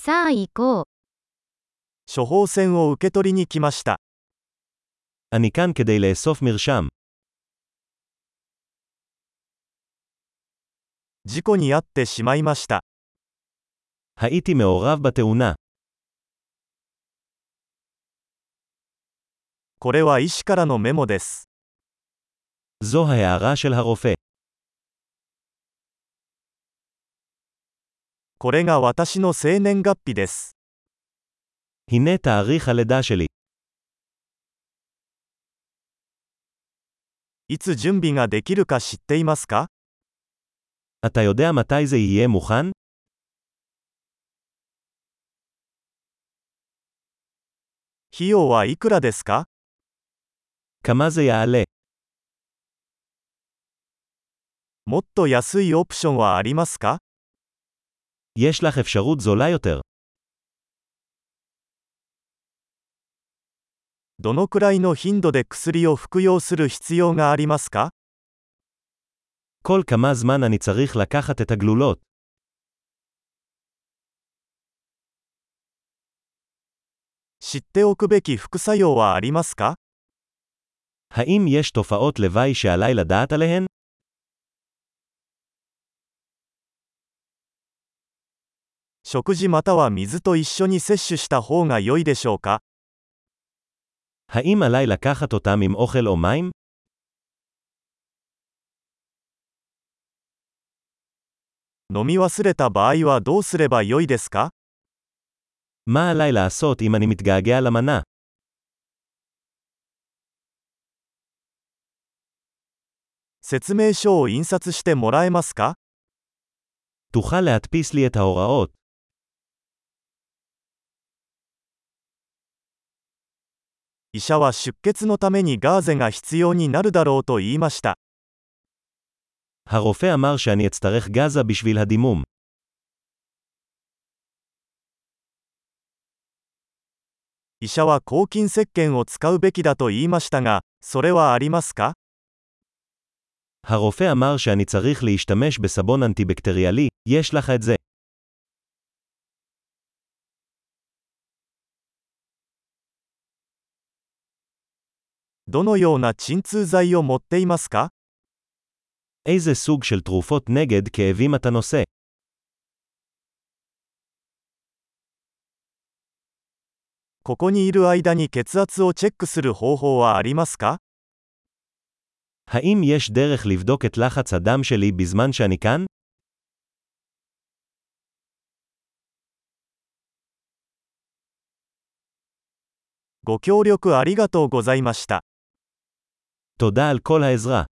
さあ行こう。 処方箋を受け取りに来ました。 אני כאן כדי לאסוף מרשם. 事故に遭ってしまいました。 הייתי מעורב בתאונה. これは医師からのメモです。 זו ההערה של הרופא. これが私の生年月日です。 הנה תאריך הלידה שלי. いつ準備ができるか知っていますか？ אתה יודע מתי זה יהיה מוכן? 費用はいくらですか？ כמה זה יעלה? もっと安いオプションはありますか？ יש לך אפשרות זולה יותר. どのくらいの頻度で薬を服用する必要がありますか？ כל כמה זמן אני צריך לקחת את הגלולות. 知っておくべき副作用はありますか？ האם יש תופעות לוואי שעליי לדעת עליהן? 食事または水と一緒に摂取した方が良いでしょうか？ האם עליי לקחת אותם עם אוכל או מים? 飲み忘れた場合はどうすれば良いですか？ מה עליי לעשות אם אני מתגעגע למנה? 説明書を印刷してもらえますか？ תוכל להדפיס לי את ההוראות. 医者は出血のためにガーゼが必要になるだろうと言いました。 הרופא אמר שאני אצטרך גזה בשביל הדימום. 医者は抗菌石鹸を使うべきだと言いましたが、それはありますか？ הרופא אמר שאני צריך להשתמש בסבון אנטיבקטריאלי, יש לך את זה. どのような鎮痛剤を持っていますか？ איזה סוג של תרופות נגד כאבים אתה נושא? ここにいる間に血圧をチェックする方法はありますか？ האם יש דרך לבדוק את לחץ הדם שלי בזמן שאני כאן? ご協力ありがとうございました。 תודה על כל העזרה.